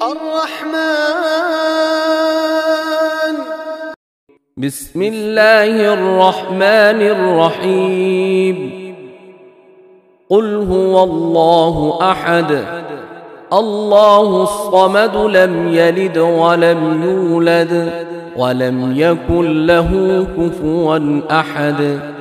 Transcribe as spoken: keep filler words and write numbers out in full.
الرحمن. بسم الله الرحمن الرحيم. قل هو الله أحد الله الصمد لم يلد ولم يولد ولم يكن له كفوا أحد.